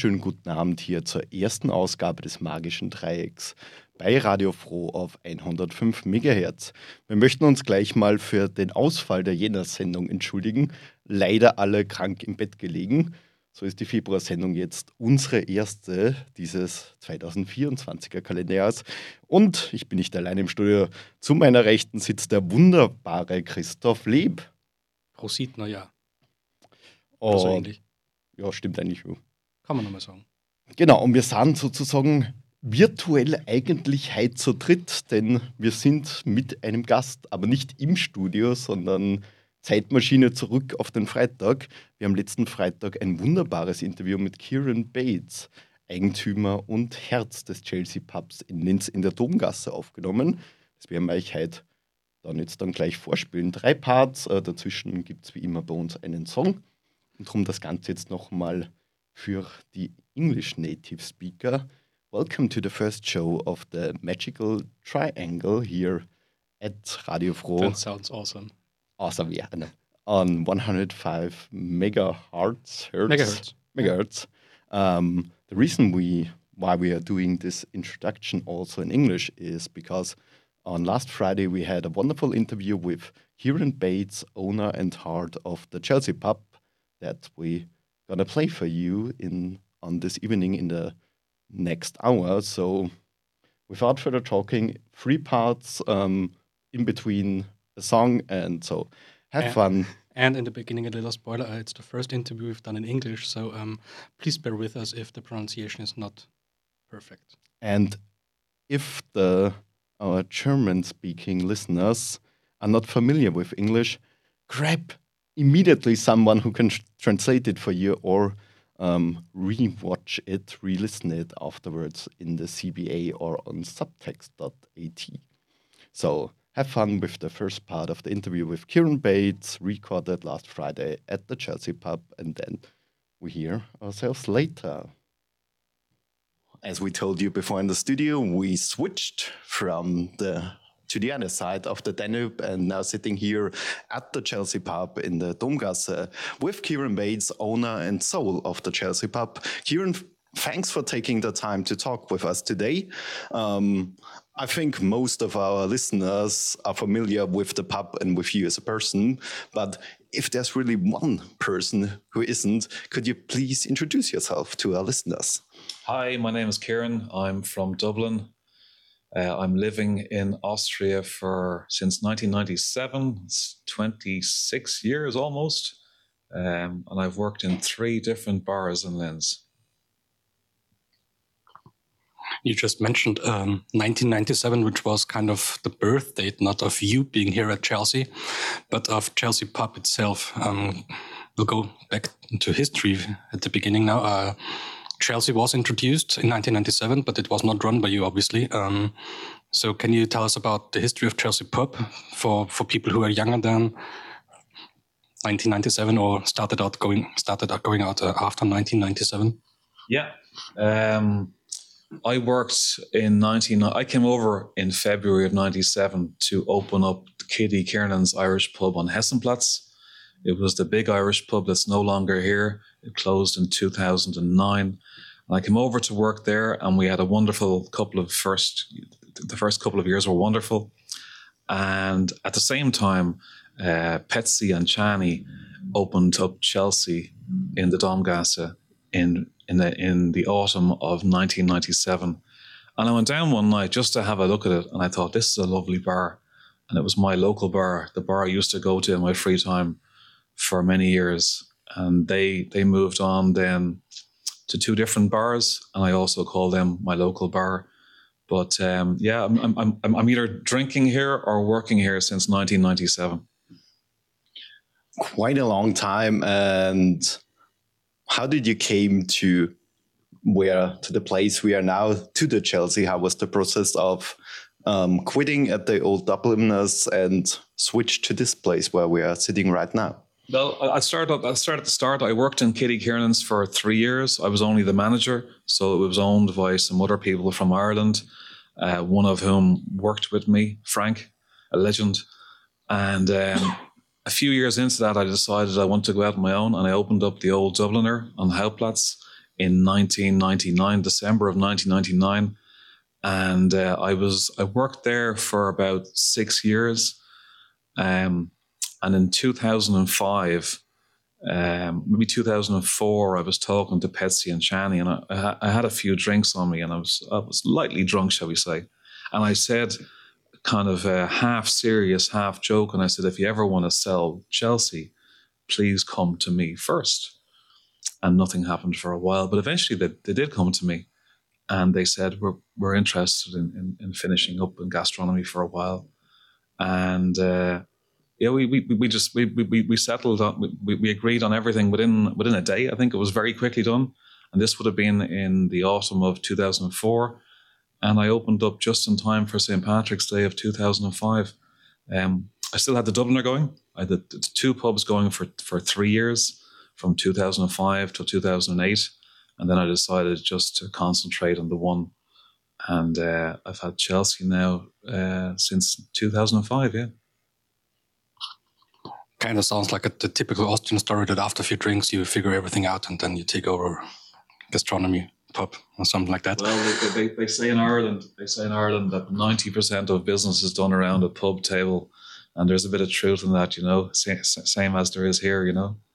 wunderschönen guten Abend hier zur ersten Ausgabe des Magischen Dreiecks bei Radio Froh auf 105 MHz. Wir möchten uns gleich mal für den Ausfall der Jänner-Sendung entschuldigen. Leider alle krank im Bett gelegen. So ist die Februarsendung jetzt unsere erste dieses 2024er Kalenderjahres. Und ich bin nicht allein im Studio. Zu meiner Rechten sitzt der wunderbare Christoph Leb. Prosit, naja. Oder so ähnlich. Ja, stimmt eigentlich. Kann man nochmal sagen. Genau, und wir sind sozusagen virtuell eigentlich heute zu dritt, denn wir sind mit einem Gast, aber nicht im Studio, sondern Zeitmaschine zurück auf den Freitag. Wir haben letzten Freitag ein wunderbares Interview mit Kieran Bates, Eigentümer und Herz des Chelsea Pubs in Linz in der Domgasse aufgenommen. Das werden wir euch heute dann gleich vorspielen. 3 Parts, dazwischen gibt es wie immer bei uns einen Song. Und darum das Ganze jetzt nochmal für die English Native Speaker. Welcome to the first show of the Magical Triangle here at Radio Froh. That sounds awesome. Awesome, yeah. On 105 megahertz. The reason why we are doing this introduction also in English is because on last Friday we had a wonderful interview with Kieran Bates, owner and heart of the Chelsea Pub, that we gonna play for you on this evening in the next hour. So without further talking, 3 parts in between a song, and so have fun. And in the beginning, a little spoiler, it's the first interview we've done in English, so please bear with us if the pronunciation is not perfect. And if our German-speaking listeners are not familiar with English, grab immediately someone who can translate it for you, or re-watch it, re-listen it afterwards in the CBA or on subtext.at. So have fun with the first part of the interview with Kieran Bates, recorded last Friday at the Chelsea Pub, and then we hear ourselves later. As we told you before in the studio, we switched to the other side of the Danube, and now sitting here at the Chelsea Pub in the Domgasse with Kieran Bates, owner and soul of the Chelsea Pub. Kieran, thanks for taking the time to talk with us today. I think most of our listeners are familiar with the pub and with you as a person, but if there's really one person who isn't, could you please introduce yourself to our listeners? Hi, my name is Kieran. I'm from Dublin. I'm living in Austria since 1997. It's 26 years almost. And I've worked in 3 different bars in Linz. You just mentioned 1997, which was kind of the birth date, not of you being here at Chelsea, but of Chelsea Pub itself. We'll go back into history at the beginning now. Chelsea was introduced in 1997, but it was not run by you, obviously. So can you tell us about the history of Chelsea Pub for people who are younger than 1997 or started out going out after 1997? Yeah. I came over in February of 97 to open up Kitty Kiernan's Irish Pub on Hessenplatz. It was the big Irish pub that's no longer here. It closed in 2009. I came over to work there, and we had a wonderful the first couple of years were wonderful. And at the same time, Petsy and Chani opened up Chelsea in the Domgasse in the autumn of 1997. And I went down one night just to have a look at it, and I thought, this is a lovely bar. And it was my local bar, the bar I used to go to in my free time for many years. And they moved on then to 2 different bars, and I also call them my local bar. But I'm either drinking here or working here since 1997. Quite a long time. And how did you came to the place we are now, to the Chelsea? How was the process of quitting at the old Dubliners and switch to this place where we are sitting right now? Well, I started at the start. I worked in Kitty Kiernan's for 3 years. I was only the manager, so it was owned by some other people from Ireland, one of whom worked with me, Frank, a legend. And a few years into that, I decided I wanted to go out on my own, and I opened up the old Dubliner on Houtplatz in 1999, December of 1999. And I worked there for about 6 years. And in 2005, maybe 2004, I was talking to Petsy and Chani, and I had a few drinks on me, and I was lightly drunk, shall we say. And I said, kind of half serious, half joke, and I said, if you ever want to sell Chelsea, please come to me first. And nothing happened for a while, but eventually they did come to me, and they said, we're interested in finishing up in gastronomy for a while. And we settled on, we agreed on everything within a day. I think it was very quickly done, and this would have been in the autumn of 2004. And I opened up just in time for St. Patrick's Day of 2005. I still had the Dubliner going. I had the 2 pubs going for 3 years, from 2005 to 2008. And then I decided just to concentrate on the one. And I've had Chelsea now since 2005, yeah. Kind of sounds like the typical Austrian story that after a few drinks you figure everything out and then you take over gastronomy pub or something like that. Well, they say in Ireland that 90% of business is done around a pub table, and there's a bit of truth in that, same as there is here,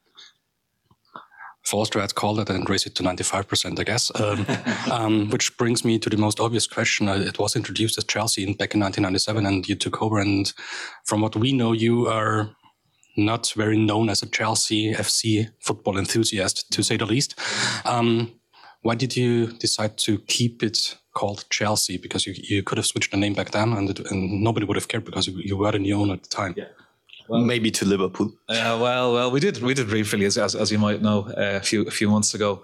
For Austria, I'd call it and raise it to 95%, I guess. Which brings me to the most obvious question. It was introduced as Chelsea back in 1997, and you took over. And from what we know, you are not very known as a Chelsea FC football enthusiast, to say the least. Why did you decide to keep it called Chelsea? Because you could have switched the name back then, and nobody would have cared because you were the new owner at the time. Yeah. Well, maybe to Liverpool. Well, we did briefly, as you might know, a few months ago.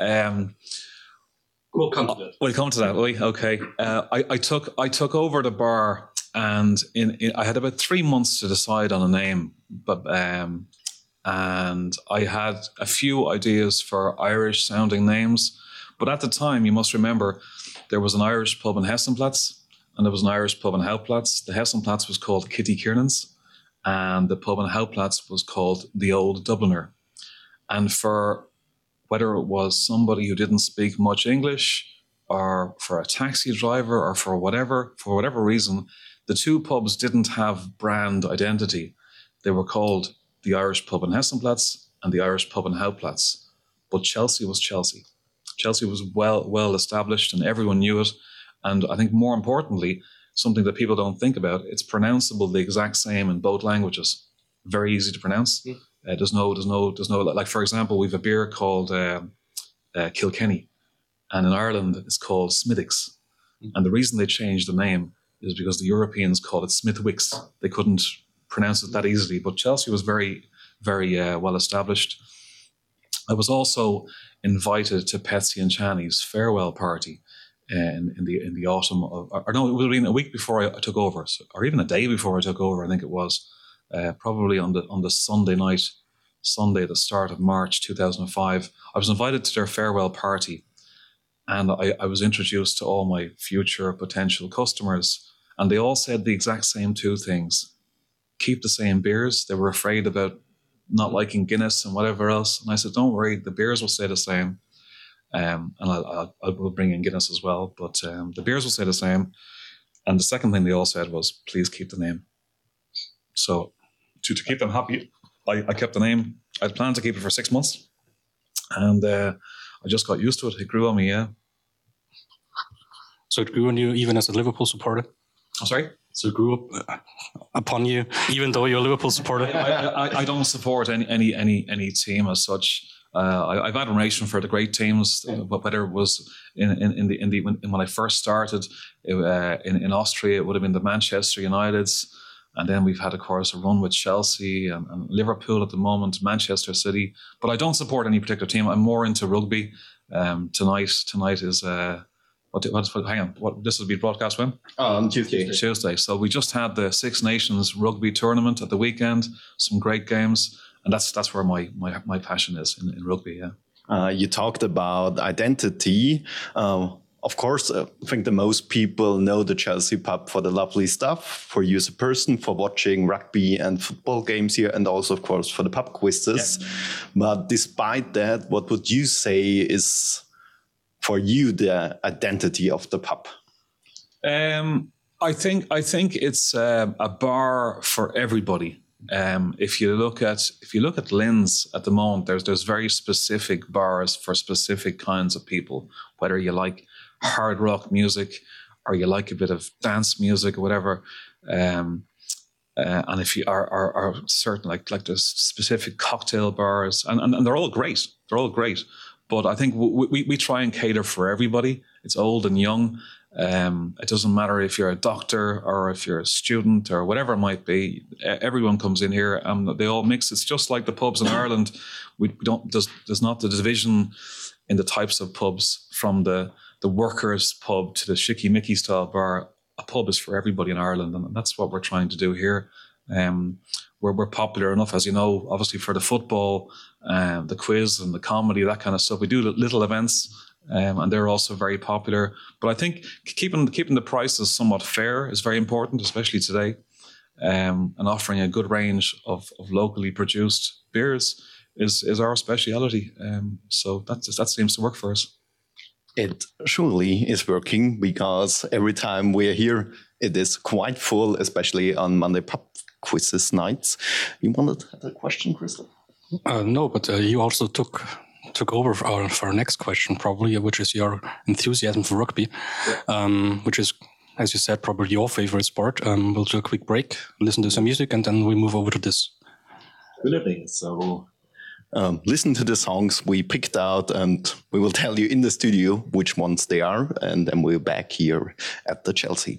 We'll come to that. We'll come to that. Okay. I took over the bar, and I had about 3 months to decide on a name, but and I had a few ideas for Irish sounding names, but at the time, you must remember, there was an Irish pub in Hessenplatz, and there was an Irish pub in Hauptplatz. The Hessenplatz was called Kitty Kiernan's, and the pub in Hauptplatz was called the Old Dubliner. And for whether it was somebody who didn't speak much English, or for a taxi driver, or for whatever reason, the 2 pubs didn't have brand identity. They were called the Irish pub in Hessenplatz and the Irish pub in Hauptplatz. But Chelsea was Chelsea. Chelsea was well established, and everyone knew it. And I think more importantly, something that people don't think about, it's pronounceable the exact same in both languages. Very easy to pronounce. There's no, like, for example, we have a beer called Kilkenny, and in Ireland it's called Smithwick's. And the reason they changed the name is because the Europeans called it Smithwick's. They couldn't pronounce it that easily, but Chelsea was very, very well established. I was also invited to Petsy and Chani's farewell party in the autumn of, or no, it would have been a week before I took over, or even a day before I took over. I think it was probably on the Sunday, the start of March 2005. I was invited to their farewell party, and I was introduced to all my future potential customers, and they all said the exact same 2 things: keep the same beers. They were afraid about not liking Guinness and whatever else, and I said, don't worry, the beers will stay the same. And I will bring in Guinness as well, but the beers will stay the same. And the second thing they all said was, please keep the name. So to keep them happy, I kept the name. I'd planned to keep it for 6 months, and I just got used to it. It grew on me, yeah. So it grew on you even as a Liverpool supporter? I'm sorry? So it grew up upon you, even though you're a Liverpool supporter? I don't support any team as such. I've admiration for the great teams, but whether it was when I first started in Austria, it would have been the Manchester Uniteds, and then we've had, of course, a run with Chelsea and Liverpool at the moment, Manchester City. But I don't support any particular team. I'm more into rugby. Tonight is hang on, what this will be broadcast when? On Tuesday. Tuesday. So we just had the Six Nations rugby tournament at the weekend. Some great games. And that's where my passion is in rugby, yeah. You talked about identity. Of course, I think the most people know the Chelsea pub for the lovely stuff, for you as a person, for watching rugby and football games here, and also, of course, for the pub quizzes. Yeah. But despite that, what would you say is for you the identity of the pub? I think it's a bar for everybody. If you look at Lynn's at the moment, there's very specific bars for specific kinds of people. Whether you like hard rock music or you like a bit of dance music or whatever, and if you are certain like there's specific cocktail bars, and they're all great. They're all great. But I think we try and cater for everybody. It's old and young. It doesn't matter if you're a doctor or if you're a student or whatever it might be. Everyone comes in here and they all mix. It's just like the pubs in Ireland. There's not the division in the types of pubs from the workers' pub to the Shicky-Mickey style bar. A pub is for everybody in Ireland, and that's what we're trying to do here. We're popular enough, as you know, obviously for the football, the quiz and the comedy, that kind of stuff. We do little events. And they're also very popular. But I think keeping the prices somewhat fair is very important, especially today. And offering a good range of locally produced beers is our speciality. So that seems to work for us. It surely is working, because every time we're here, it is quite full, especially on Monday pub quizzes nights. You wanted to have a question, Christoph? No, but you also took over for our next question, probably, which is your enthusiasm for rugby, which is, as you said, probably your favorite sport. We'll do a quick break, listen to some music, and then we move over to this. Absolutely. So listen to the songs we picked out, and we will tell you in the studio which ones they are, and then we're back here at the Chelsea.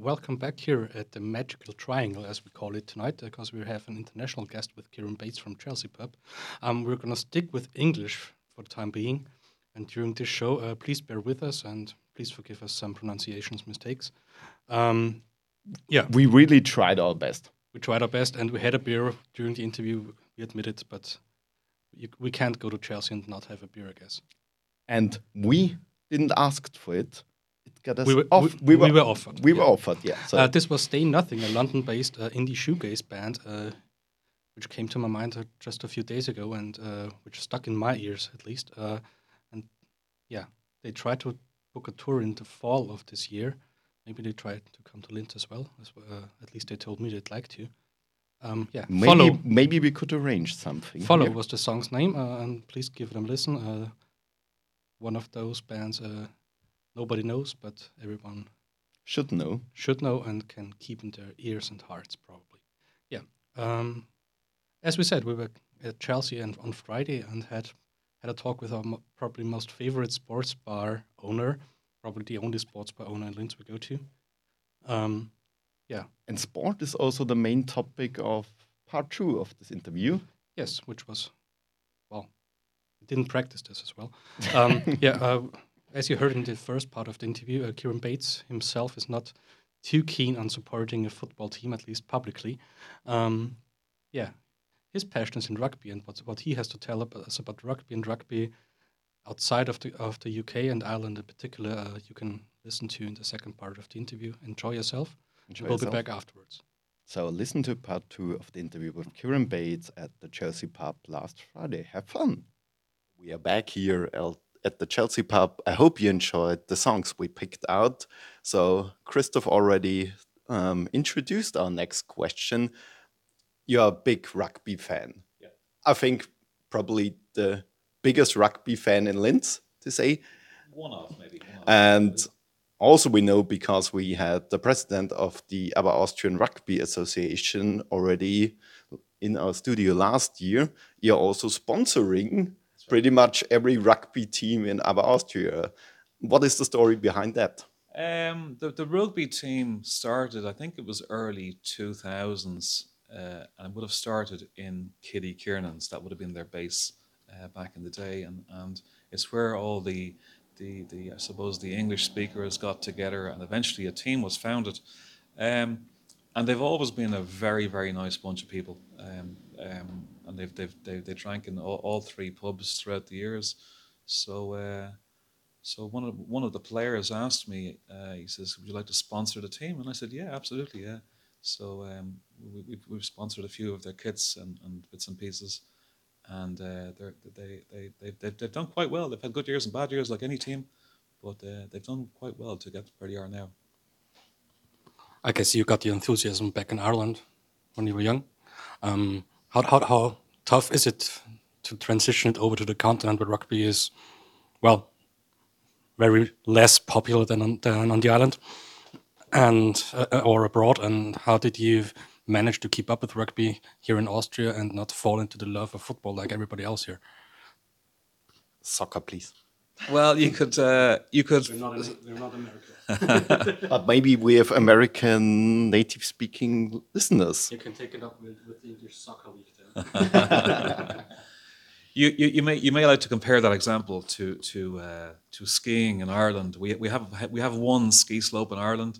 welcome back here at the Magical Triangle, as we call it tonight, because we have an international guest with Kieran Bates from Chelsea Pub. We're going to stick with English for the time being, and during this show, please bear with us and please forgive us some pronunciations mistakes. We really tried our best. We tried our best, and we had a beer during the interview, we admit it, but we can't go to Chelsea and not have a beer, I guess. And we didn't ask for it. It got us We were offered. We were offered, yeah. So this was Stay Nothing, a London-based indie shoegaze band, which came to my mind just a few days ago and which stuck in my ears, at least. And yeah, they tried to book a tour in the fall of this year. Maybe they tried to come to Linz as well. At least they told me they'd like to. maybe we could arrange something. Follow was the song's name, and please give them a listen. One of those bands nobody knows, but everyone should know and can keep in their ears and hearts, probably. Yeah. As we said, we were at Chelsea and on Friday and had a talk with our probably most favorite sports bar owner, probably the only sports bar owner in Linz we go to. And sport is also the main topic of part 2 of this interview. Yes, which was, well, we didn't practice this as well. As you heard in the first part of the interview, Kieran Bates himself is not too keen on supporting a football team, at least publicly. His passion is in rugby, and what he has to tell us about rugby and rugby outside of the UK and Ireland in particular, you can listen to in the second part of the interview. Enjoy yourself. We'll be back afterwards. So listen to part 2 of the interview with Kieran Bates at the Chelsea Pub last Friday. Have fun. We are back here at the Chelsea Pub. I hope you enjoyed the songs we picked out. So Christoph already introduced our next question. You're a big rugby fan. Yeah. I think probably the biggest rugby fan in Linz, to say. One of, maybe. And also we know, because we had the president of the Aber Austrian Rugby Association already in our studio last year, you're also sponsoring pretty much every rugby team in Aber Austria. What is the story behind that? The rugby team started, I think it was early 2000s, and would have started in Kitty Kiernan's. That would have been their base back in the day, and it's where all the I suppose the English speakers got together, and eventually a team was founded. And they've always been a very, very nice bunch of people. And they drank in all 3 pubs throughout the years. So one of the players asked me, he says, "Would you like to sponsor the team?" And I said, "Yeah, absolutely, yeah." So we've sponsored a few of their kits and bits and pieces. And they've done quite well. They've had good years and bad years, like any team, but they've done quite well to get where they are now. I guess you got the enthusiasm back in Ireland when you were young. How tough is it to transition it over to the continent where rugby is, well, very less popular than on the island and or abroad? And how did you manage to keep up with rugby here in Austria and not fall into the love of football like everybody else here? Soccer, please. Well, you could. They're not American. But maybe we have American native-speaking listeners. You can take it up with the English Soccer League then. You may like to compare that example to skiing in Ireland. We have one ski slope in Ireland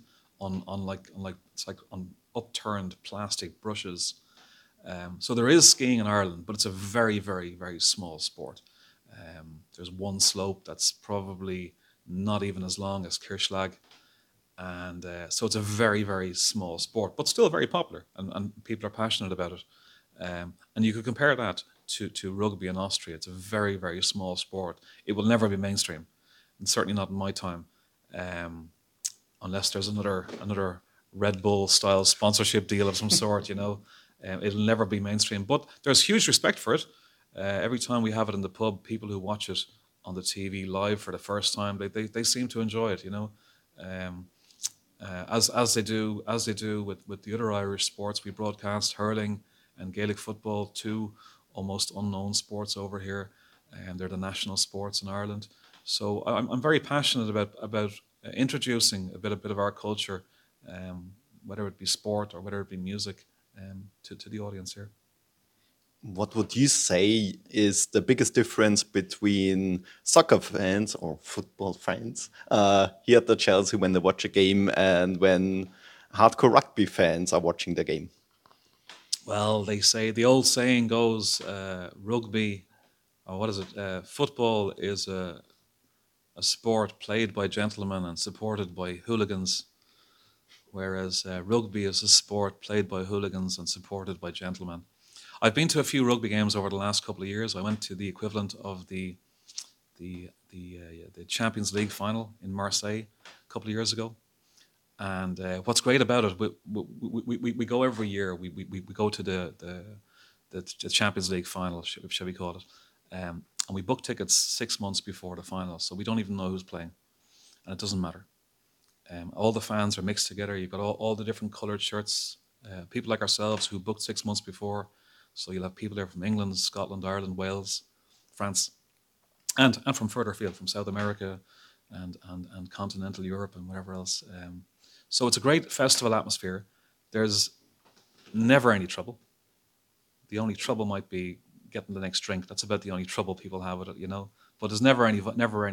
on upturned plastic brushes. So there is skiing in Ireland, but it's a very, very, very small sport. There's one slope that's probably not even as long as Kirchlag. And so it's a very, very small sport, but still very popular, and people are passionate about it. And you could compare that to rugby in Austria. It's a very, very small sport. It will never be mainstream, and certainly not in my time, unless there's another Red Bull style sponsorship deal of some sort, it'll never be mainstream. But there's huge respect for it. Every time we have it in the pub, people who watch it on the TV live for the first time, they seem to enjoy it, as they do with the other Irish sports. We broadcast hurling and Gaelic football, 2 almost unknown sports over here, and they're the national sports in Ireland. So I'm very passionate about introducing a bit of our culture whether it be sport or whether it be music, to the audience here. What would you say is the biggest difference between soccer fans or football fans here at the Chelsea when they watch a game and when hardcore rugby fans are watching the game? Well, they say, the old saying goes, rugby, or what is it? Football is a sport played by gentlemen and supported by hooligans, whereas rugby is a sport played by hooligans and supported by gentlemen. I've been to a few rugby games over the last couple of years. I went to the equivalent of the Champions League final in Marseille a couple of years ago. And what's great about it, we go every year. We go to the Champions League final, shall we call it, and we book tickets 6 months before the final, so we don't even know who's playing, and it doesn't matter. All the fans are mixed together. You've got all the different coloured shirts. People like ourselves who booked 6 months before, so you'll have people there from England, Scotland, Ireland, Wales, France, and from further afield, from South America and continental Europe and whatever else. So it's a great festival atmosphere. There's never any trouble. The only trouble might be getting the next drink. That's about the only trouble people have with it, But there's never any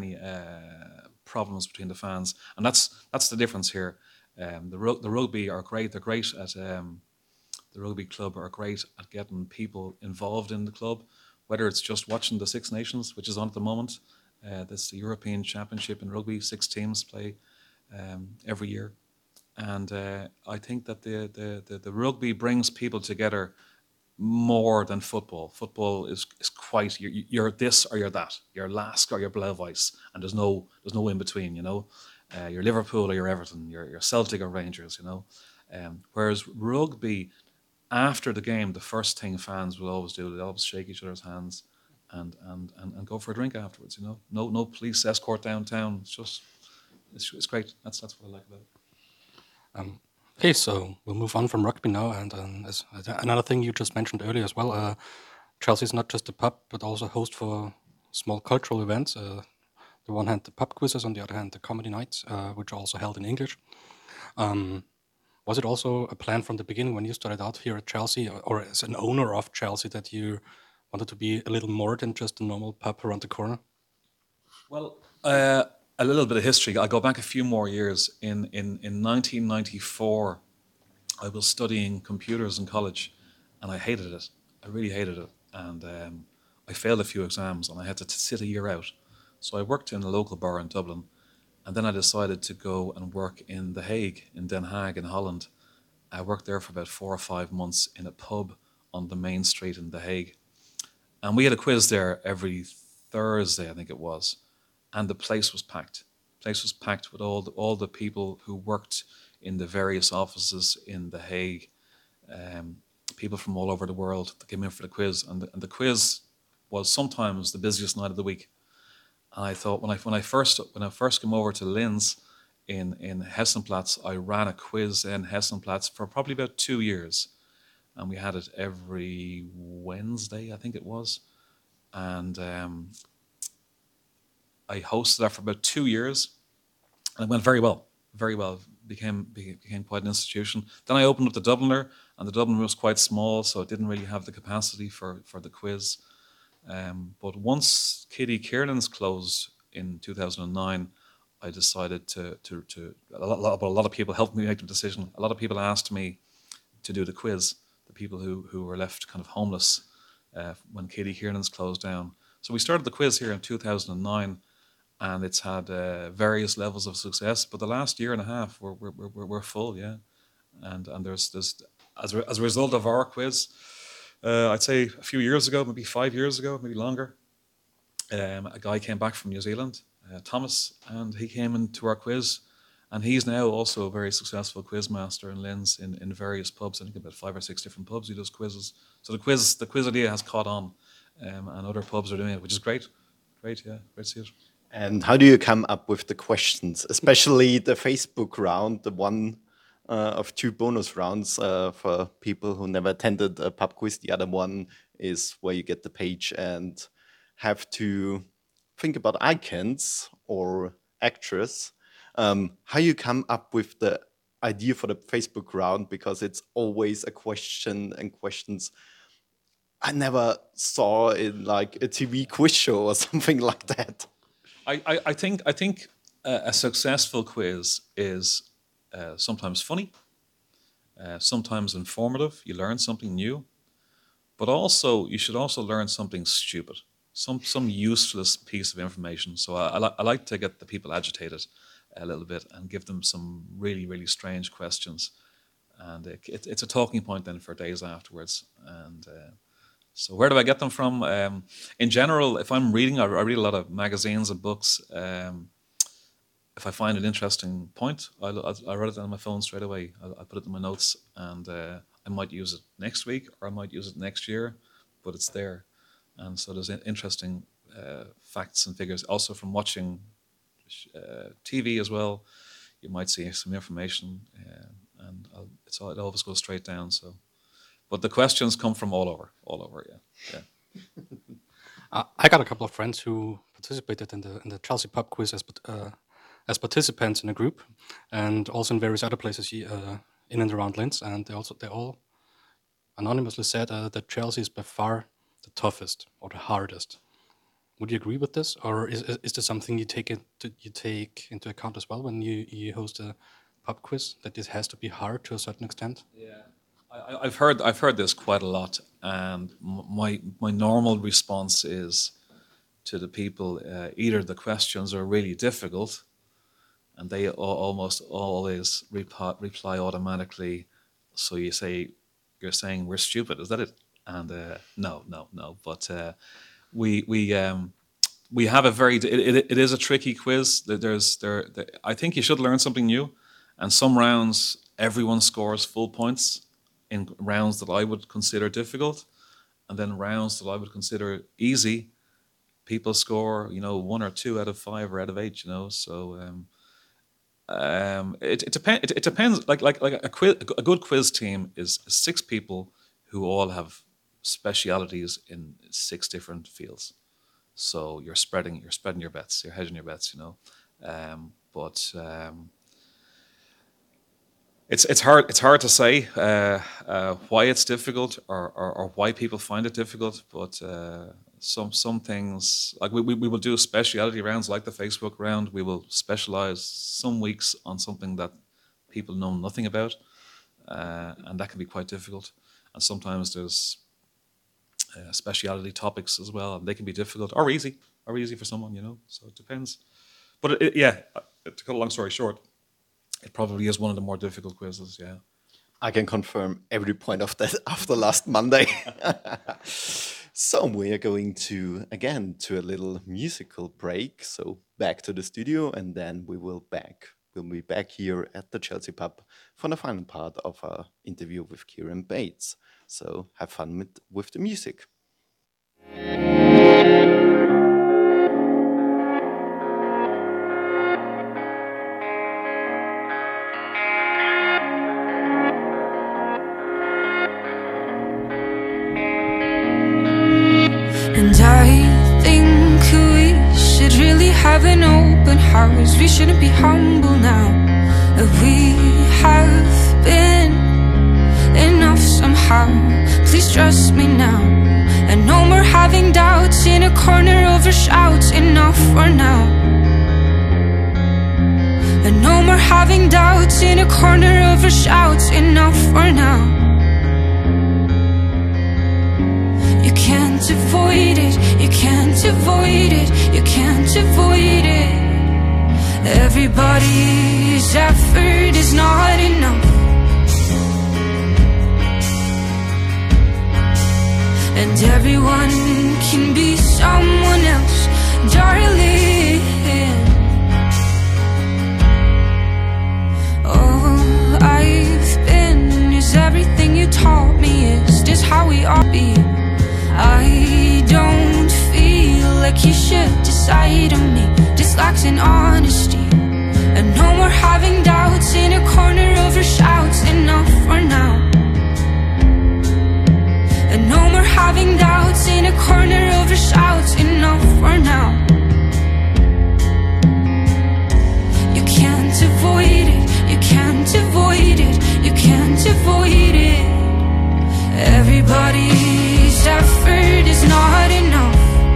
problems between the fans, and that's the difference here. The rugby are great. They're great at the rugby club are great at getting people involved in the club, whether it's just watching the Six Nations, which is on at the moment. That's the European Championship in rugby. 6 teams play every year. And I think that the rugby brings people together more than football. Football is quite, you're this or you're that. You're Lask or you're Blauweiss, and there's no in between. You're Liverpool or you're Everton. You're Celtic or Rangers. Whereas rugby, after the game, the first thing fans will always do, they always shake each other's hands and go for a drink afterwards. No police escort downtown. It's great. That's what I like about it. Okay, so we'll move on from rugby now, and as another thing you just mentioned earlier as well, Chelsea is not just a pub, but also a host for small cultural events. On the one hand, the pub quizzes, on the other hand, the comedy nights, which are also held in English. Was it also a plan from the beginning when you started out here at Chelsea, or as an owner of Chelsea, that you wanted to be a little more than just a normal pub around the corner? Well, a little bit of history. I'll go back a few more years. In 1994, I was studying computers in college, and I hated it. I really hated it. And I failed a few exams, and I had to sit a year out. So I worked in a local bar in Dublin, and then I decided to go and work in The Hague, in Den Haag, in Holland. I worked there for about 4 or 5 months in a pub on the main street in The Hague. And we had a quiz there every Thursday, I think it was. And the place was packed. The place was packed with all the people who worked in the various offices in The Hague, people from all over the world that came in for the quiz. And the quiz was sometimes the busiest night of the week. And I thought, when I first came over to Linz in Hessenplatz, I ran a quiz in Hessenplatz for probably about 2 years. And we had it every Wednesday, I think it was. And I hosted that for about 2 years, and it went very well. Very well. Became quite an institution. Then I opened up the Dubliner, and the Dubliner was quite small, so it didn't really have the capacity for the quiz. But once Kitty Kiernan's closed in 2009, I decided to a lot of people helped me make the decision. A lot of people asked me to do the quiz, the people who were left kind of homeless when Kitty Kiernan's closed down. So we started the quiz here in 2009, and it's had various levels of success. But the last year and a half, we're full, yeah. And there's as a result of our quiz, I'd say a few years ago, maybe 5 years ago, maybe longer, a guy came back from New Zealand, Thomas, and he came into our quiz, and he's now also a very successful quiz master in Linz in various pubs. I think about 5 or 6 different pubs he does quizzes. So the quiz idea has caught on, and other pubs are doing it, which is great. Great, yeah, great to see it. And how do you come up with the questions, especially the Facebook round, the one of 2 bonus rounds for people who never attended a pub quiz? The other one is where you get the page and have to think about icons or actress. How you come up with the idea for the Facebook round, because it's always a question and questions I never saw in like a TV quiz show or something like that. I think a successful quiz is sometimes funny, sometimes informative. You learn something new, but also you should also learn something stupid, some useless piece of information. So I like to get the people agitated a little bit and give them some really, really strange questions, and it's a talking point then for days afterwards. And so where do I get them from? In general, if I'm reading, I read a lot of magazines and books. If I find an interesting point, I write it down on my phone straight away. I put it in my notes, and I might use it next week or I might use it next year, but it's there. And so there's interesting facts and figures. Also from watching TV as well, you might see some information, and it always goes straight down. So, but the questions come from all over. Yeah. I got a couple of friends who participated in the Chelsea pub quiz as participants in a group, and also in various other places in and around Linz, and they all anonymously said that Chelsea is by far the toughest or the hardest. Would you agree with this, or is this something you take into account as well when you host a pub quiz, that this has to be hard to a certain extent? Yeah, I've heard this quite a lot, and my normal response is to the people, either the questions are really difficult, and they almost always reply automatically. So you're saying we're stupid, is that it? And no. But we have a very it is a tricky quiz. I think you should learn something new, and some rounds everyone scores full points in rounds that I would consider difficult, and then rounds that I would consider easy, people score 1 or 2 out of 5 or out of 8. So it depends. Like a good quiz team is 6 people who all have specialities in 6 different fields. So you're spreading your bets, you're hedging your bets, but it's hard to say why it's difficult or why people find it difficult. But some things, like we will do speciality rounds like the Facebook round. We will specialize some weeks on something that people know nothing about, and that can be quite difficult. And sometimes there's speciality topics as well, and they can be difficult or easy for someone, so it depends. But to cut a long story short, it probably is one of the more difficult quizzes. Yeah, I can confirm every point of that after last Monday. So we are going to a little musical break, so back to the studio, and then we'll be back here at the Chelsea pub for the final part of our interview with Kieran Bates. So have fun with the music. And I think we should really have an open house. We shouldn't be humble now. We have been enough somehow. Please trust me now. And no more having doubts in a corner over shouts. Enough for now. And no more having doubts in a corner over shouts. Enough for now. You can't avoid it. You can't avoid it. You can't avoid it. Everybody's effort is not enough. And everyone can be someone else, darling. All I've been is everything you taught me. Is this how we ought to be? I don't feel like you should decide on me. This lacks in honesty. And no more having doubts in a corner over shouts. Enough for now. And no more having doubts in a corner over shouts. Enough for now. You can't avoid it. You can't avoid is not enough.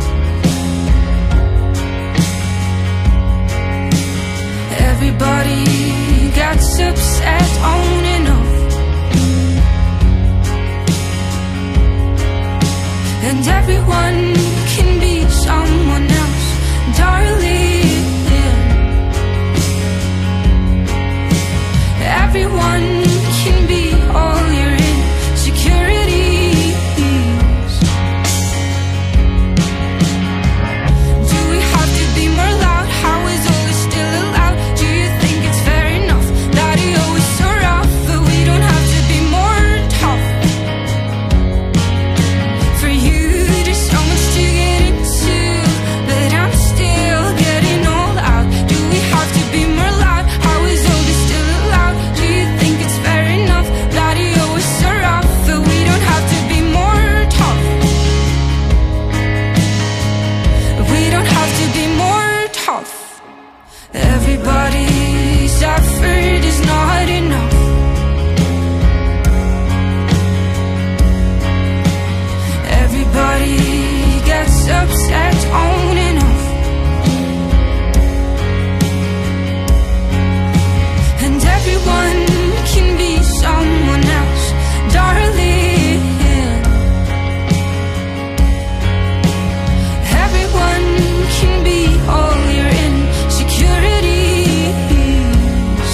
Everybody gets upset on enough. And everyone can be someone else, darling. Everyone can be all your insecurities. Do we have to be more loud? How is all this still allowed? Do you think it's fair enough that he always so rough? But we don't have to be more tough. For you there's so much to get into, but I'm still getting all out. Do we have to be more loud? How is all this still allowed? Do you think it's fair enough that he always so rough? But we don't have to be more tough. We don't have to be more tough. Everybody's effort is not enough. Everybody gets upset on enough. And everyone can be someone else, darling. Everyone can be all your insecurities.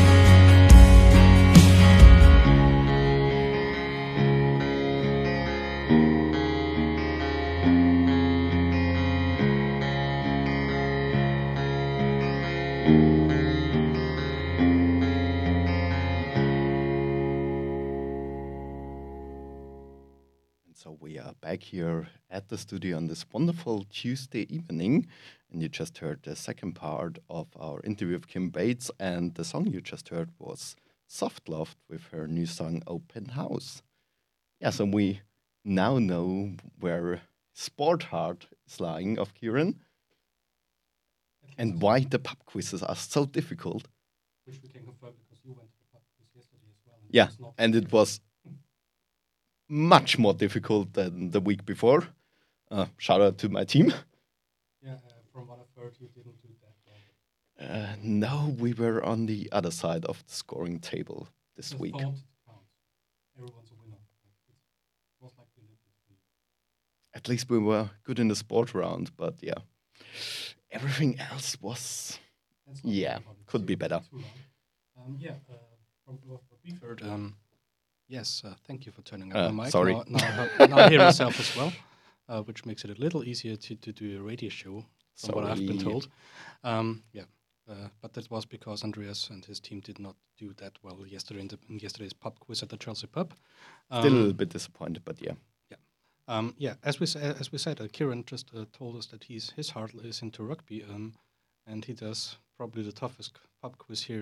And so we are back here at the studio on this wonderful Tuesday evening. And you just heard the second part of our interview with Kim Bates. And the song you just heard was Soft Loft with her new song Open House. Yeah, so we now know where sport heart is lying of Kieran and why the pub quizzes are so difficult. Which we can confirm because you went to the pub quiz yesterday as well. Yeah, and it was much more difficult than the week before. Shout out to my team. Yeah, from what I've heard, you didn't do that well. No, we were on the other side of the scoring table this The week. thought counts. Everyone's a winner. It was like the Olympics for you. At least we were good in the sport round, but yeah, everything else was, Let's not yeah, talk about it could be too better. long. From what we've heard, yes, thank you for turning Uh, up the mic. sorry. Now I hear myself as well, which makes it a little easier to do a radio show, from what I've been Sorry. told. But that was because Andreas and his team did not do that well yesterday in yesterday's pub quiz at the Chelsea pub. Still a little bit disappointed, but yeah. As we said, Kieran just told us that his heart is into rugby, and he does probably the toughest pub quiz here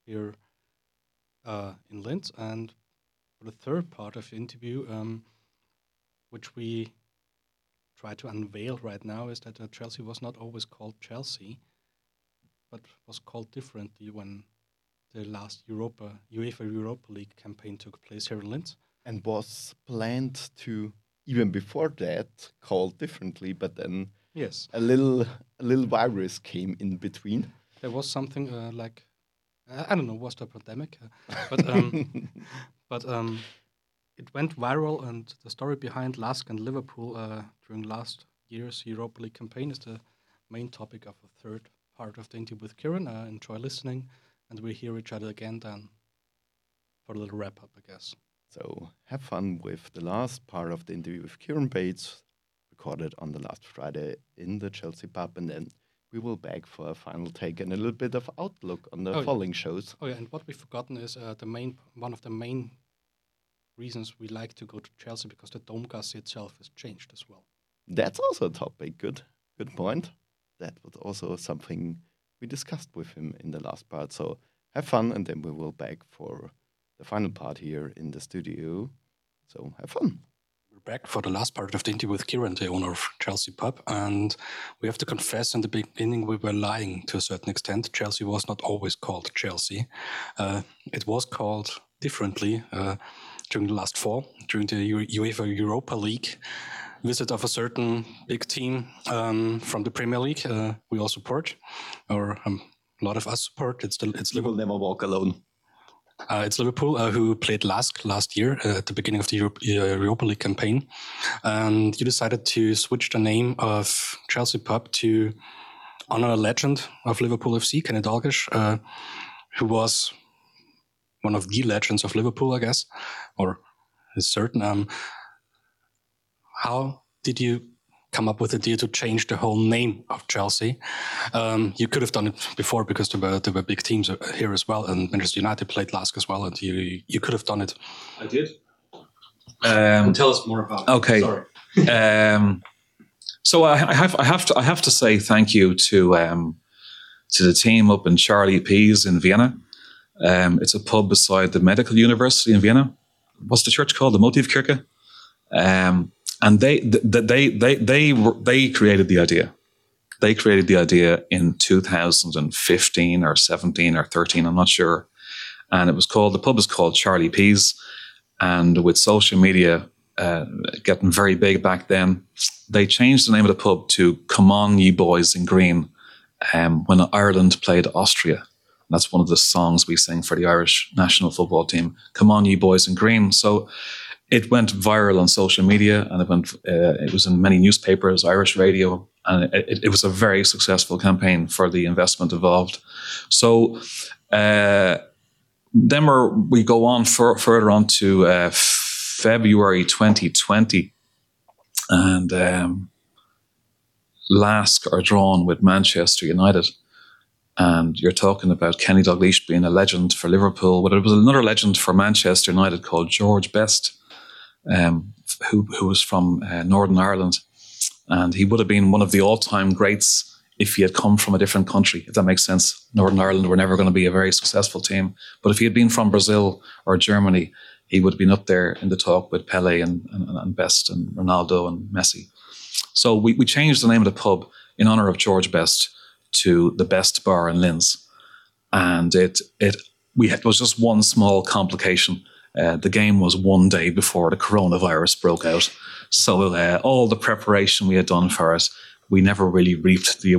in Linz. And for the third part of the interview, which we try to unveil right now, is that Chelsea was not always called Chelsea, but was called differently when the last UEFA Europa League campaign took place here in Linz. And was planned to, even before that, called differently, but then Yes. a little virus came in between. There was something like I don't know, was the pandemic, but it went viral, and the story behind LASK and Liverpool during last year's Europa League campaign is the main topic of the third part of the interview with Kieran. Enjoy listening, and we'll hear each other again then for a little wrap up, I guess. So have fun with the last part of the interview with Kieran Bates, recorded on the last Friday in the Chelsea pub, and then we will back for a final take and a little bit of outlook on the following shows. Oh yeah, and what we've forgotten is one of the main reasons we like to go to Chelsea, because the Domgasse itself has changed as well. That's also a topic. Good point. That was also something we discussed with him in the last part. So have fun, and then we will back for the final part here in the studio. So have fun. We're back for the last part of the interview with Kieran, the owner of Chelsea Pub, and we have to confess in the beginning we were lying to a certain extent. Chelsea was not always called Chelsea. It was called differently during the last fall, during the UEFA Europa League. visit of a certain big team from the Premier League, we all support, or a lot of us support. It's You will never walk alone. It's Liverpool, who played last year at the beginning of the Europa League campaign. And you decided to switch the name of Chelsea Pub to honor a legend of Liverpool FC, Kenny Dalglish, who was one of the legends of Liverpool, I guess, or is certain. How did you come up with the idea to change the whole name of Chelsea? You could have done it before because there were big teams here as well, and Manchester United played LASK as well, and you could have done it. I did. Tell us more about it. Okay. Sorry. So I have to say thank you to the team up in Charlie P's in Vienna. It's a pub beside the Medical University in Vienna. What's the church called? The Motivkirche. And they created the idea. They created the idea in 2015 or 17 or 13, I'm not sure. And the pub is called Charlie P's. And with social media getting very big back then, they changed the name of the pub to Come On Ye Boys in Green when Ireland played Austria. And that's one of the songs we sing for the Irish national football team. Come On Ye Boys in Green. So it went viral on social media, and it was in many newspapers, Irish radio, and it was a very successful campaign for the investment involved. So then we go on further on to February 2020, and LASK are drawn with Manchester United. And you're talking about Kenny Dalglish being a legend for Liverpool, but it was another legend for Manchester United called George Best, who was from Northern Ireland. And he would have been one of the all-time greats if he had come from a different country, if that makes sense. Northern Ireland were never going to be a very successful team. But if he had been from Brazil or Germany, he would have been up there in the talk with Pele and Best and Ronaldo and Messi. So we changed the name of the pub in honour of George Best to the Best Bar in Linz. And it was just one small complication. The game was one day before the coronavirus broke out. So all the preparation we had done for it, we never really reaped the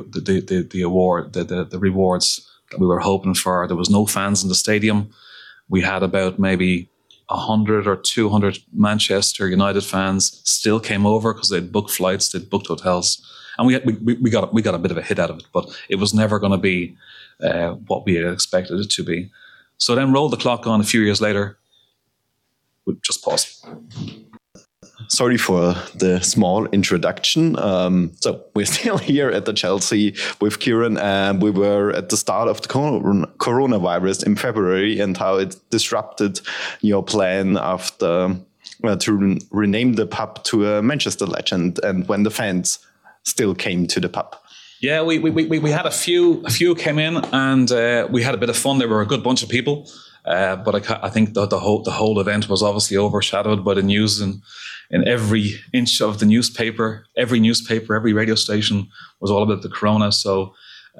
award, the rewards that we were hoping for. There was no fans in the stadium. We had about maybe 100 or 200 Manchester United fans still came over because they'd booked flights, they'd booked hotels. And we got a bit of a hit out of it, but it was never going to be what we had expected it to be. So then roll the clock on a few years later. We'll just pause. Sorry for the small introduction. So we're still here at the Chelsea with Kieran, and we were at the start of the coronavirus in February and how it disrupted your plan after to rename the pub to a Manchester legend, and when the fans still came to the pub. Yeah, we had a few came in, and we had a bit of fun. There were a good bunch of people, but I think the whole event was obviously overshadowed by the news, and in every inch of the newspaper, every radio station was all about the corona. So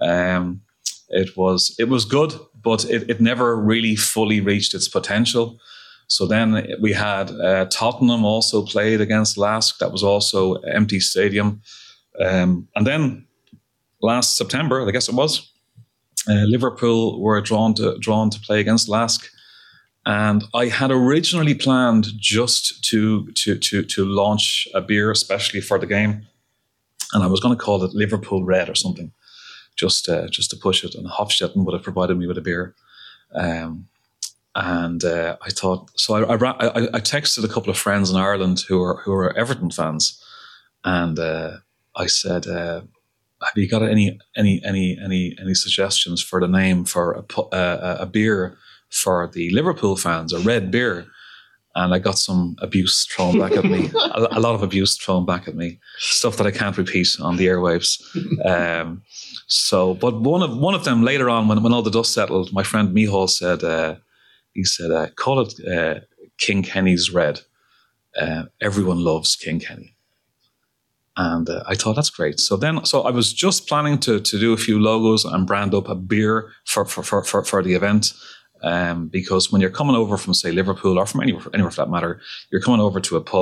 it was good, but it never really fully reached its potential. So then we had Tottenham also played against LASK. That was also an empty stadium. And then last September, I guess it was, Liverpool were drawn to play against LASK, and I had originally planned just to launch a beer especially for the game, and I was going to call it Liverpool Red or something, just to push it. And Hofstetten would have provided me with a beer, and I thought so. I texted a couple of friends in Ireland who are Everton fans, and I said, have you got any suggestions for the name for a beer for the Liverpool fans, a red beer? And I got some abuse thrown back at me, a lot of abuse thrown back at me, stuff that I can't repeat on the airwaves. But one of them later on, when all the dust settled, my friend Mihal said, call it King Kenny's Red. Everyone loves King Kenny. And I thought, that's great. So I was just planning to do a few logos and brand up a beer for the event. Because when you're coming over from, say, Liverpool or from anywhere for that matter, you're coming over to a pub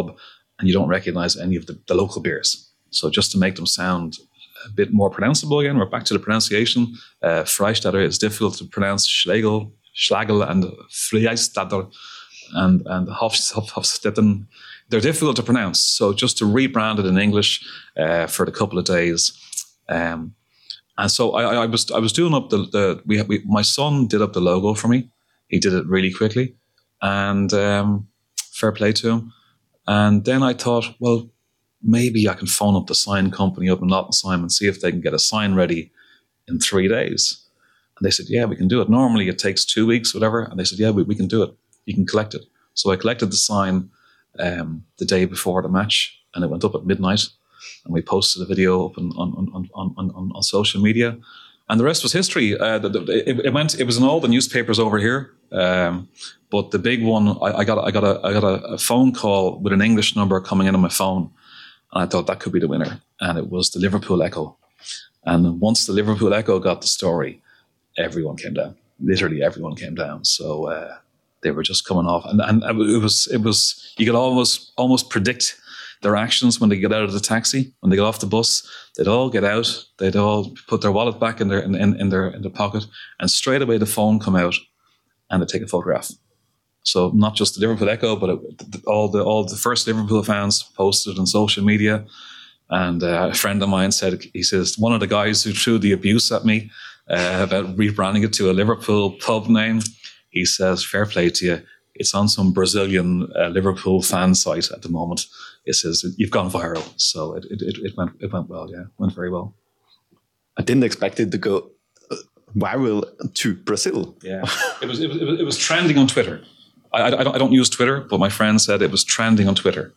and you don't recognize any of the local beers. So just to make them sound a bit more pronounceable again, we're back to the pronunciation. Freistatter is difficult to pronounce. Schlagel and Freistatter and Hofstetten, they're difficult to pronounce. So just to rebrand it in English for the couple of days. And so I was doing up my son did up the logo for me. He did it really quickly, and fair play to him. And then I thought, well, maybe I can phone up the sign company up in Nottingham and see if they can get a sign ready in 3 days. And they said, yeah, we can do it. Normally it takes 2 weeks, whatever. And they said, yeah, we can do it. You can collect it. So I collected the sign the day before the match, and it went up at midnight. And we posted a video up on social media. And the rest was history. It was in all the newspapers over here. But the big one, I got a phone call with an English number coming in on my phone. And I thought that could be the winner. And it was the Liverpool Echo. And once the Liverpool Echo got the story, everyone came down. Literally everyone came down. So they were just coming off. And it was you could almost predict their actions when they get out of the taxi, when they get off the bus. They'd all get out. They'd all put their wallet back in their pocket. And straight away the phone come out and they'd take a photograph. So not just the Liverpool Echo, but all the first Liverpool fans posted on social media. And a friend of mine said, he says, one of the guys who threw the abuse at me about rebranding it to a Liverpool pub name, he says, fair play to you. It's on some Brazilian Liverpool fan site at the moment. It says, you've gone viral. So it went well, yeah. It went very well. I didn't expect it to go viral to Brazil. Yeah, it was trending on Twitter. I don't use Twitter, but my friend said it was trending on Twitter.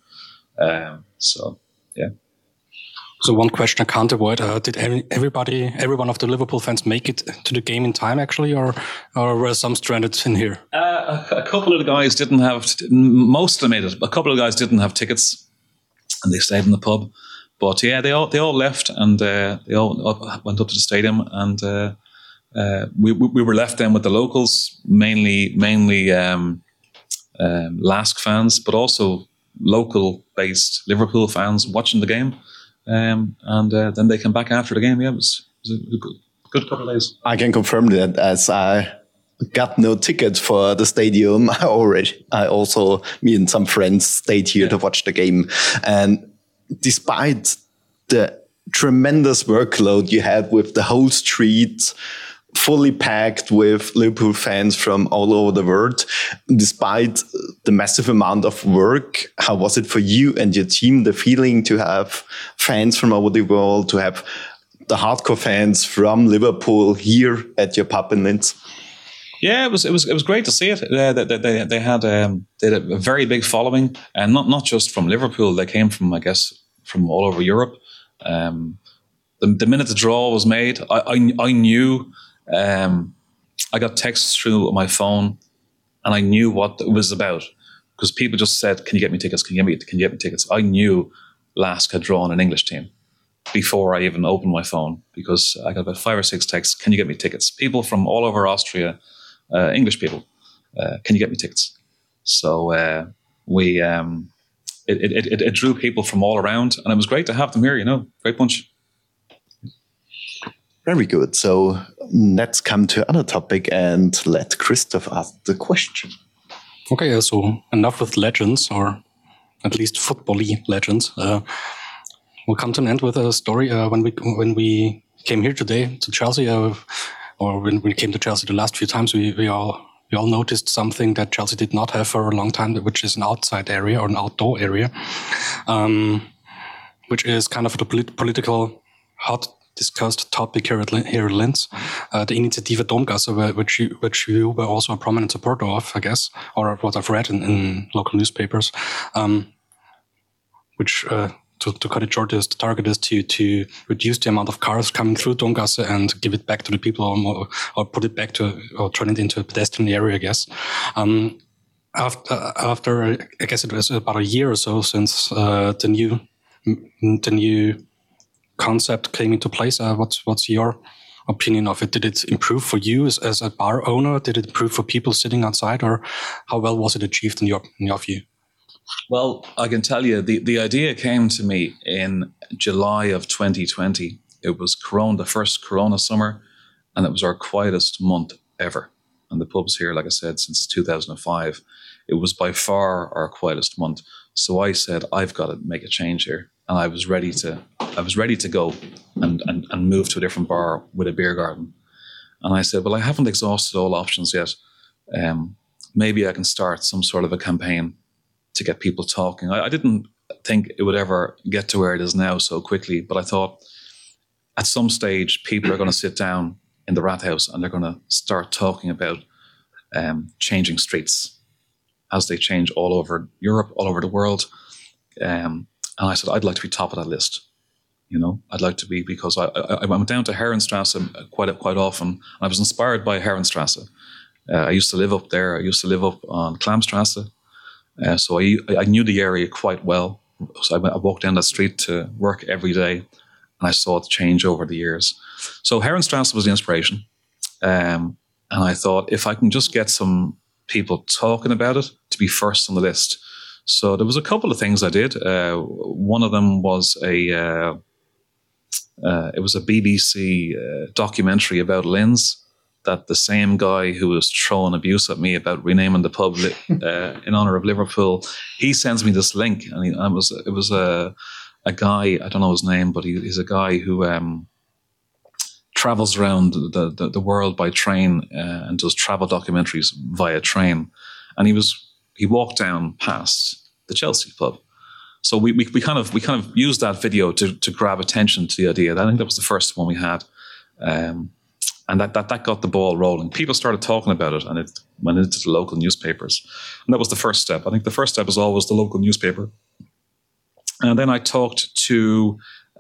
So, yeah. So one question I can't avoid: did every one of the Liverpool fans make it to the game in time, actually, or were some stranded in here? A couple of the guys didn't have. Most of them made it. A couple of the guys didn't have tickets, and they stayed in the pub. But yeah, they all left, and they all went up to the stadium, and we were left then with the locals, mainly LASK fans, but also local-based Liverpool fans watching the game. And then they came back after the game. Yeah, it was a good couple of days. I can confirm that, as I got no ticket for the stadium. Me and some friends stayed here to watch the game. And despite the tremendous workload you had with the whole street fully packed with Liverpool fans from all over the world, despite the massive amount of work, how was it for you and your team, the feeling to have fans from over the world, to have the hardcore fans from Liverpool here at your pub in Linz? Yeah, it was great to see it. They had a very big following, and not just from Liverpool. They came from, I guess, from all over Europe. The minute the draw was made, I knew. I got texts through my phone, and I knew what it was about, because people just said, "Can you get me tickets? Can you get me tickets?" I knew LASK had drawn an English team before I even opened my phone, because I got about 5 or 6 texts. "Can you get me tickets?" People from all over Austria, English people. "Can you get me tickets?" So it drew people from all around, and it was great to have them here. Great bunch. Very good. So let's come to another topic and let Christoph ask the question. Okay, so enough with legends, or at least football-y legends. We'll come to an end with a story. When we came here today to Chelsea, or when we came to Chelsea the last few times, we all noticed something that Chelsea did not have for a long time, which is an outside area or an outdoor area, which is kind of the political hot discussed topic here at Linz, the Initiative Domgasse, which you were also a prominent supporter of, I guess, or what I've read in local newspapers, which, to cut it short, the target is to reduce the amount of cars coming through Domgasse and give it back to the people, or put it back or turn it into a pedestrian area, I guess. After I guess it was about a year or so since the new concept came into place. What's your opinion of it? Did it improve for you as a bar owner? Did it improve for people sitting outside, or how well was it achieved in your view? Well, I can tell you, the idea came to me in July of 2020. It was the first Corona summer, and it was our quietest month ever. And the pub's here, like I said, since 2005. It was by far our quietest month. So I said, I've got to make a change here. And I was ready to go and move to a different bar with a beer garden. And I said, well, I haven't exhausted all options yet. Maybe I can start some sort of a campaign to get people talking. I didn't think it would ever get to where it is now so quickly, but I thought at some stage people are going to sit down in the Rathaus and they're going to start talking about changing streets as they change all over Europe, all over the world. And I said, I'd like to be top of that list. You know, I'd like to be, because I went down to Herrenstrasse quite often. And I was inspired by Herrenstrasse. I used to live up there. I used to live up on Klamstrasse. So I knew the area quite well. So I walked down that street to work every day, and I saw it change over the years. So Herrenstrasse was the inspiration. And I thought, if I can just get some people talking about it, to be first on the list. So there was a couple of things I did. One of them was it was a BBC documentary about Linz, that the same guy who was throwing abuse at me about renaming the pub in honor of Liverpool, he sends me this link, and it was a guy, I don't know his name, but he's a guy who travels around the world by train and does travel documentaries via train, and he walked down past the Chelsea pub. So we kind of used that video to grab attention to the idea. I think that was the first one we had. And that got the ball rolling. People started talking about it, and it went into the local newspapers. And that was the first step. I think the first step is always the local newspaper. And then I talked to,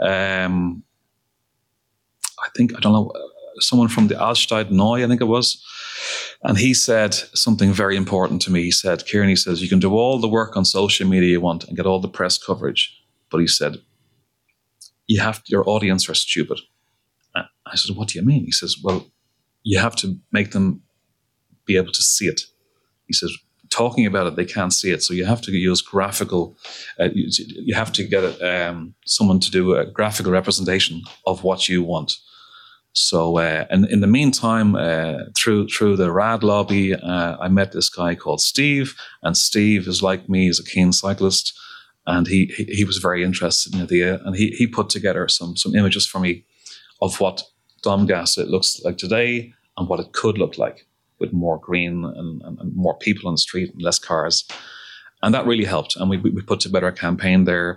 someone from the Altstadt Neu, I think it was. And he said something very important to me. He said, Kieran, he says, you can do all the work on social media you want and get all the press coverage. But he said, your audience are stupid. I said, what do you mean? He says, well, you have to make them be able to see it. He says, talking about it, they can't see it. So you have to use graphical, you have to get someone to do a graphical representation of what you want. So and in the meantime, through the RAD lobby, I met this guy called Steve. And Steve is like me, he's a keen cyclist. And he was very interested in the idea. And he put together some images for me of what Domgasse looks like today and what it could look like with more green and more people on the street and less cars. And that really helped. And we put together a campaign there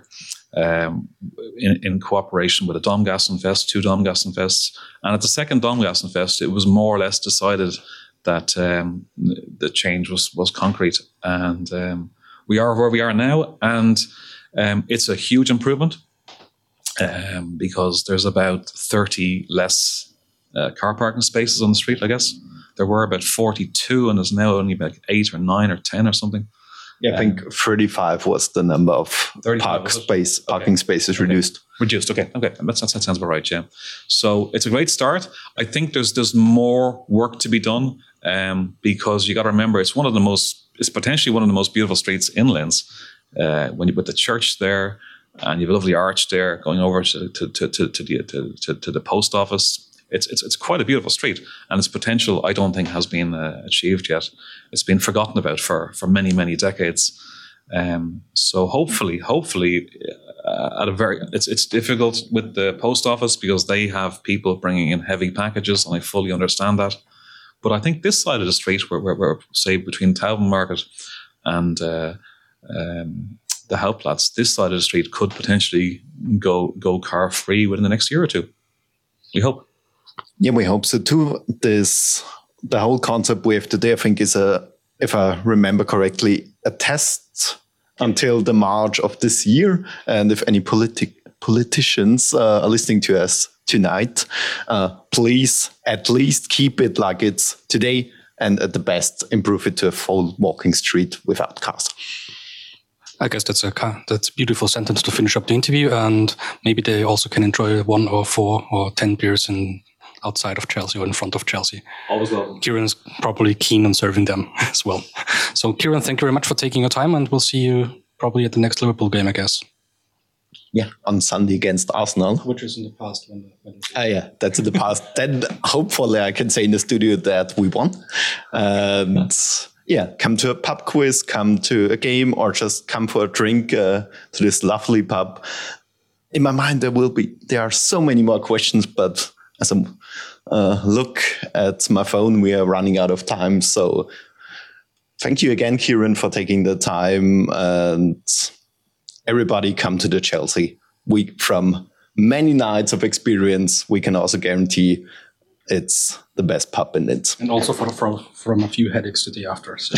in cooperation with a Domgassenfest, 2 Domgassenfests. And at the second Domgassenfest, it was more or less decided that the change was concrete. And we are where we are now. And it's a huge improvement. Because there's about 30 less car parking spaces on the street, I guess. There were about 42, and there's now only about 8 or 9 or 10 or something. Yeah, I think 35 was the number of parking spaces reduced. Reduced, okay. That sounds about right, yeah. So it's a great start. I think there's more work to be done because you got to remember it's potentially one of the most beautiful streets in Linz. When you put the church there, and you have a lovely arch there going over to the post office. It's quite a beautiful street, and its potential I don't think has been achieved yet. It's been forgotten about for many, many decades. So hopefully, it's difficult with the post office because they have people bringing in heavy packages, and I fully understand that. But I think this side of the street, where say between Tauben Market and the Hauptplatz, this side of the street could potentially go car free within the next year or two. We hope. Yeah, we hope so too. The whole concept we have today, I think, is if I remember correctly, a test until the March of this year. And if any politicians are listening to us tonight, please at least keep it like it's today, and at the best improve it to a full walking street without cars. I guess that's a beautiful sentence to finish up the interview, and maybe they also can enjoy 1 or 4 or 10 beers outside of Chelsea or in front of Chelsea. Always welcome. Kieran's probably keen on serving them as well. So Kieran, thank you very much for taking your time, and we'll see you probably at the next Liverpool game, I guess. Yeah, on Sunday against Arsenal. Which is in the past. Yeah, that's in the past. Then hopefully I can say in the studio that we won. And yeah, come to a pub quiz, come to a game, or just come for a drink to this lovely pub. In my mind, there are so many more questions, but as I look at my phone, we are running out of time. So thank you again, Kieran, for taking the time, and everybody come to the Chelsea. From many nights of experience, we can also guarantee it's the best pub in it. And also from a few headaches to the after. So.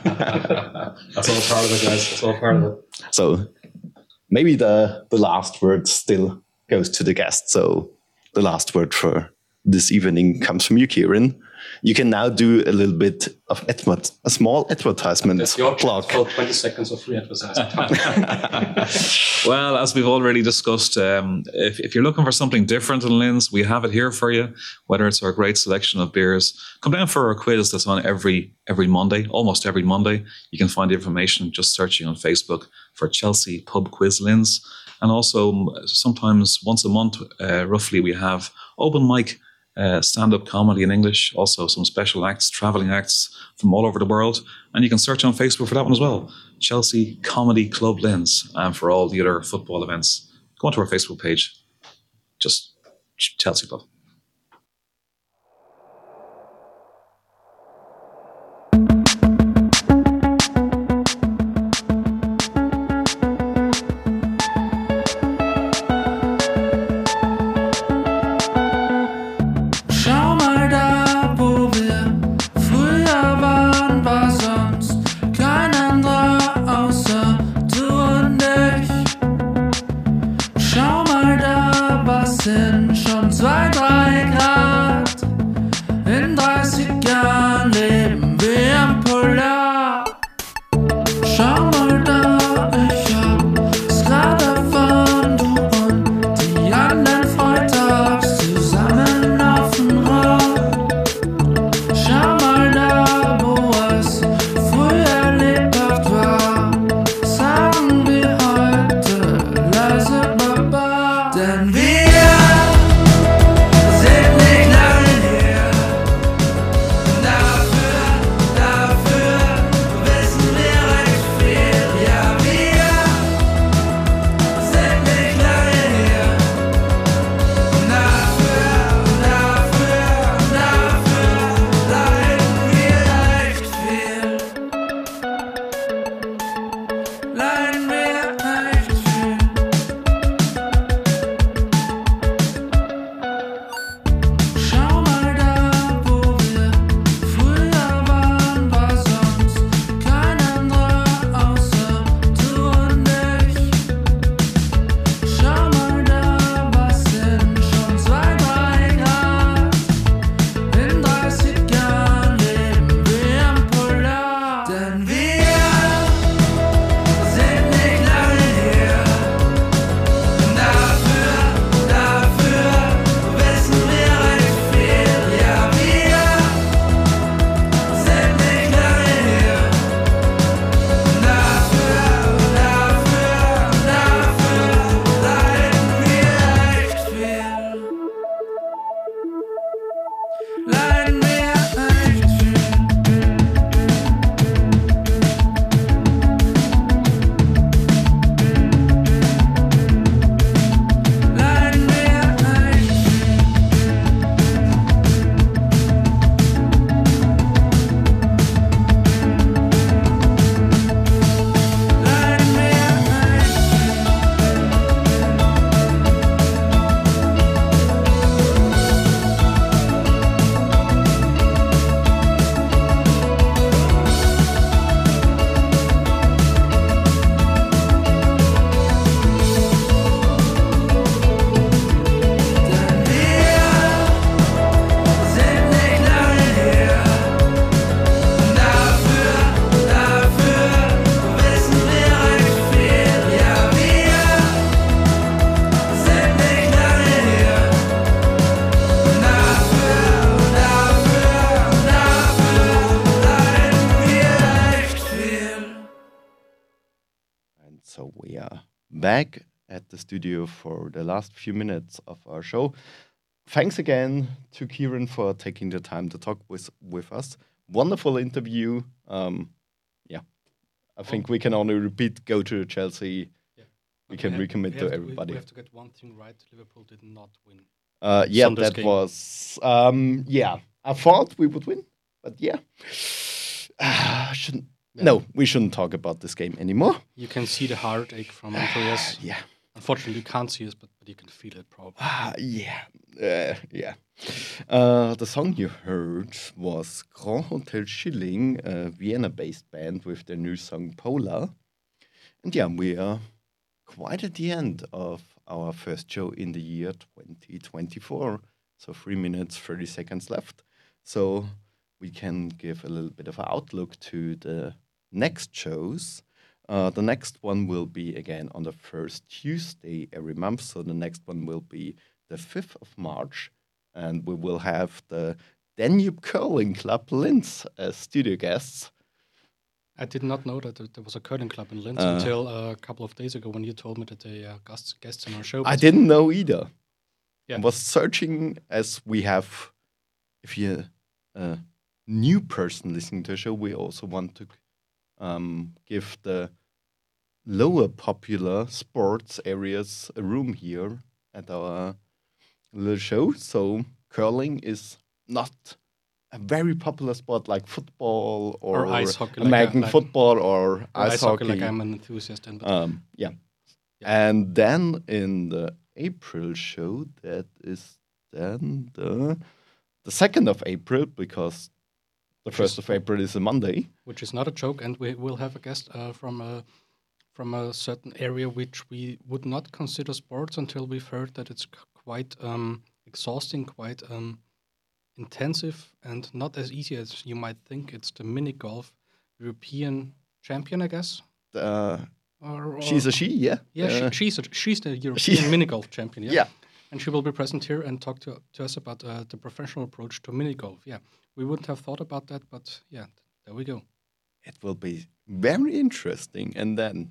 That's all part of it, guys. That's all part of it. So maybe the last word still goes to the guest. So the last word for this evening comes from you, Kieran. You can now do a little bit of a small advertisement blog. 20 seconds of free advertising. Well, as we've already discussed, if you're looking for something different in Linz, we have it here for you. Whether it's our great selection of beers, come down for our quiz that's on every Monday, almost every Monday. You can find the information just searching on Facebook for Chelsea Pub Quiz Linz. And also sometimes once a month, roughly, we have open mic stand-up comedy in English, also some special acts, travelling acts from all over the world. And you can search on Facebook for that one as well. Chelsea Comedy Club Linz. And for all the other football events, go onto our Facebook page. Just Chelsea Club. Schon 2, 3 So we are back at the studio for the last few minutes of our show. Thanks again to Kieran for taking the time to talk with us. Wonderful interview. I think we can only repeat, go to Chelsea. Yeah. We can recommit to everybody. We have to get one thing right. Liverpool did not win. That game. was... I thought we would win, but shouldn't... Yeah. No, we shouldn't talk about this game anymore. You can see the heartache from Andreas. Yeah. Unfortunately, you can't see us, but you can feel it probably. The song you heard was Grand Hotel Schilling, a Vienna-based band with their new song Polar. And we are quite at the end of our first show in the year 2024. So 3 minutes, 30 seconds left. So we can give a little bit of an outlook to the next shows. The next one will be again on the first Tuesday every month. So the next one will be the 5th of March. And we will have the Danube Curling Club Linz as studio guests. I did not know that there was a curling club in Linz until a couple of days ago when you told me that they are guests in our show. I didn't know either. Yeah. I was searching as we have, if you're a new person listening to the show, we also want to give the lower popular sports areas a room here at our little show. So curling is not a very popular sport like football or ice hockey, American football or ice hockey. Like I'm an enthusiast in. And then in the April show, that is then the 2nd of April, because the 1st of April is a Monday. Which is not a joke, and we will have a guest from a certain area which we would not consider sports until we've heard that it's quite exhausting, quite intensive, and not as easy as you might think. It's the mini golf European champion, I guess. She's a she, yeah. Yeah, she's the European mini golf champion, yeah. Yeah. And she will be present here and talk to us about the professional approach to mini golf. Yeah, we wouldn't have thought about that, but yeah, there we go. It will be very interesting. And then,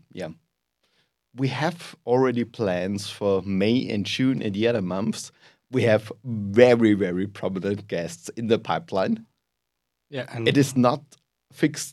we have already plans for May and June and the other months. We have very, very prominent guests in the pipeline. Yeah, and it is not fixed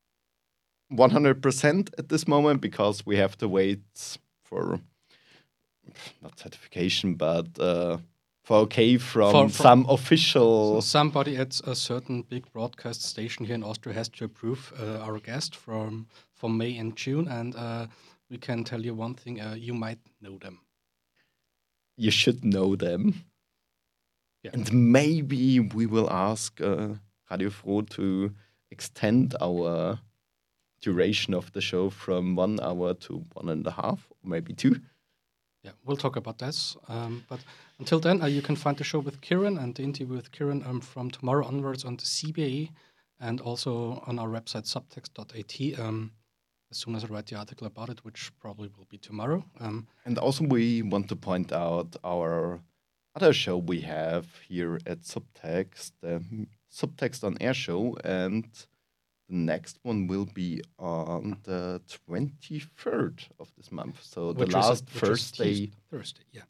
100% at this moment because we have to wait for not certification, but for some official. So somebody at a certain big broadcast station here in Austria has to approve our guest for May and June, and we can tell you one thing: you might know them. You should know them. Yeah. And maybe we will ask Radio Froh to extend our duration of the show from 1 hour to 1.5, or maybe 2. Yeah, we'll talk about this. But until then, you can find the show with Kieran and the interview with Kieran from tomorrow onwards on the CBA and also on our website subtext.at. As soon as I write the article about it, which probably will be tomorrow. And also we want to point out our other show we have here at Subtext, the Subtext on Air show, and the next one will be on the 23rd of this month. So the last Thursday. Thursday, yeah.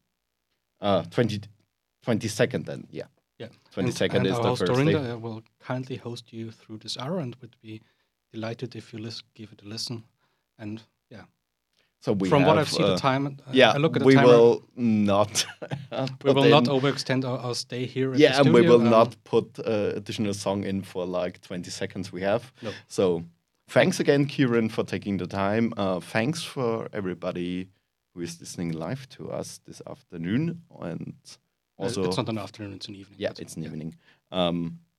22nd then, yeah. Yeah. 22nd and is our the host Thursday. Dorinda will kindly host you through this hour and would be delighted if you give it a listen. And yeah. So what I've seen the time, I look at the we timer. Will not. We will not overextend our stay here. At the and studio. we will not put additional song in for like 20 seconds we have. No. So thanks again, Kieran, for taking the time. Thanks for everybody who is listening live to us this afternoon. And also, it's not an afternoon; it's an evening. Yeah, it's an evening.